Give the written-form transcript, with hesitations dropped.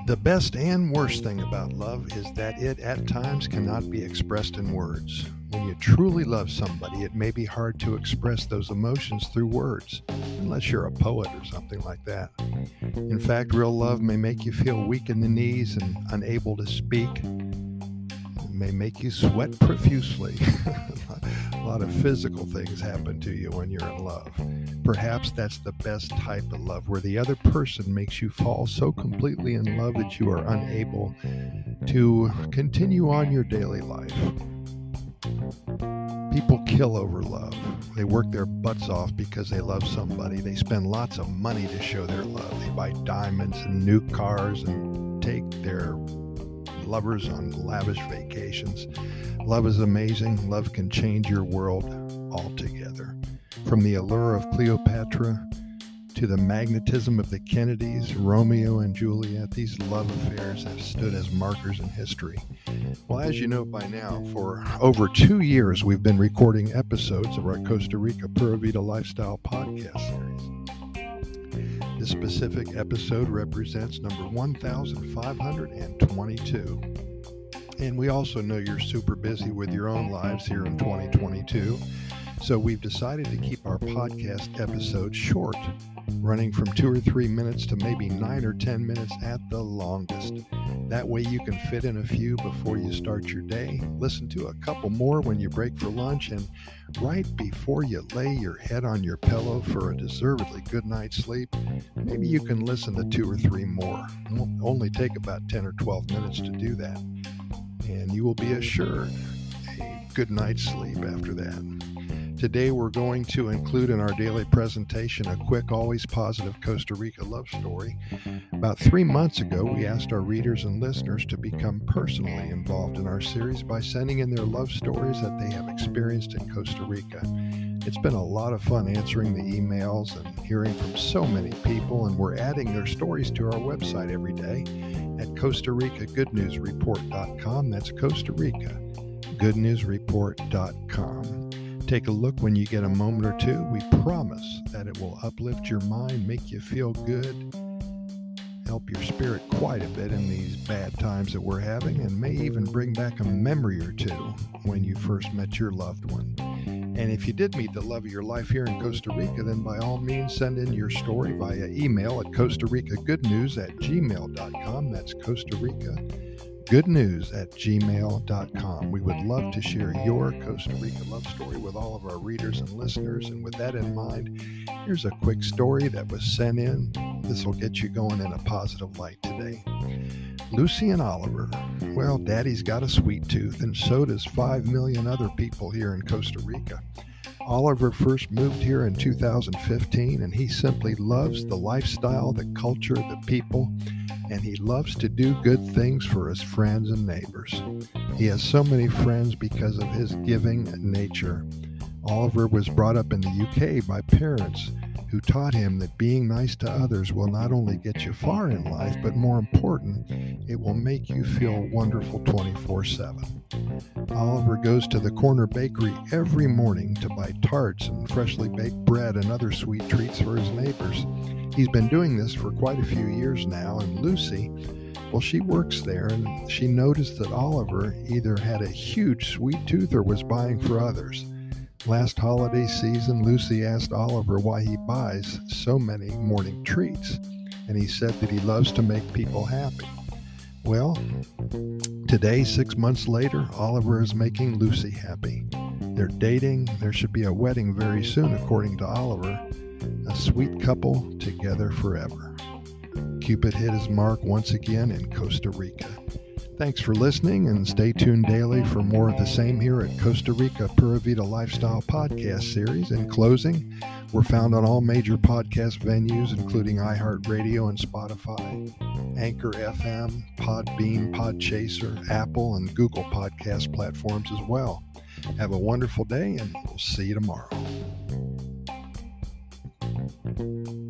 The best and worst thing about love is that it at times cannot be expressed in words. When you truly love somebody, it may be hard to express those emotions through words, unless you're a poet or something like that. In fact, real love may make you feel weak in the knees and unable to speak. It may make you sweat profusely. A lot of physical things happen to you when you're in love. Perhaps that's the best type of love, where the other person makes you fall so completely in love that you are unable to continue on your daily life. People kill over love. They work their butts off because they love somebody. They spend lots of money to show their love. They buy diamonds and new cars and take their lovers on lavish vacations. Love is amazing. Love can change your world altogether. From the allure of Cleopatra to the magnetism of the Kennedys, Romeo and Juliet, these love affairs have stood as markers in history. Well, as you know by now, for over 2 years, we've been recording episodes of our Costa Rica Pura Vida Lifestyle podcast series. This specific episode represents number 1522. And we also know you're super busy with your own lives here in 2022. So we've decided to keep our podcast episodes short, running from 2 or 3 minutes to maybe 9 or 10 minutes at the longest. That way you can fit in a few before you start your day, listen to a couple more when you break for lunch, and right before you lay your head on your pillow for a deservedly good night's sleep, maybe you can listen to 2 or 3 more. It will only take about 10 or 12 minutes to do that, and you will be assured a good night's sleep after that. Today we're going to include in our daily presentation a quick, always positive Costa Rica love story. About 3 months ago, we asked our readers and listeners to become personally involved in our series by sending in their love stories that they have experienced in Costa Rica. It's been a lot of fun answering the emails and hearing from so many people, and we're adding their stories to our website every day at CostaRicaGoodNewsReport.com. That's Costa Rica GoodNewsReport.com. Take a look when you get a moment or two. We promise that it will uplift your mind, make you feel good, help your spirit quite a bit in these bad times that we're having, and may even bring back a memory or two when you first met your loved one. And if you did meet the love of your life here in Costa Rica, then by all means send in your story via email at CostaRicaGoodNews@gmail.com. That's Costa Rica goodnews@gmail.com. We would love to share your Costa Rica love story with all of our readers and listeners. And with that in mind, here's a quick story that was sent in. This will get you going in a positive light today. Lucy and Oliver. Well, Daddy's got a sweet tooth, and so does 5 million other people here in Costa Rica. Oliver first moved here in 2015, and he simply loves the lifestyle, the culture, the people, and he loves to do good things for his friends and neighbors. He has so many friends because of his giving nature. Oliver was brought up in the UK by parents who taught him that being nice to others will not only get you far in life, but more important, it will make you feel wonderful 24/7. Oliver goes to the corner bakery every morning to buy tarts and freshly baked bread and other sweet treats for his neighbors. He's been doing this for quite a few years now, and Lucy, well, she works there, and she noticed that Oliver either had a huge sweet tooth or was buying for others. Last holiday season, Lucy asked Oliver why he buys so many morning treats, and he said that he loves to make people happy. Well, today, 6 months later, Oliver is making Lucy happy. They're dating. There should be a wedding very soon, according to Oliver. A sweet couple together forever. Cupid hit his mark once again in Costa Rica. Thanks for listening, and stay tuned daily for more of the same here at Costa Rica Pura Vida Lifestyle Podcast Series. In closing, we're found on all major podcast venues, including iHeartRadio and Spotify, Anchor FM, Podbean, Podchaser, Apple, and Google Podcast platforms as well. Have a wonderful day, and we'll see you tomorrow.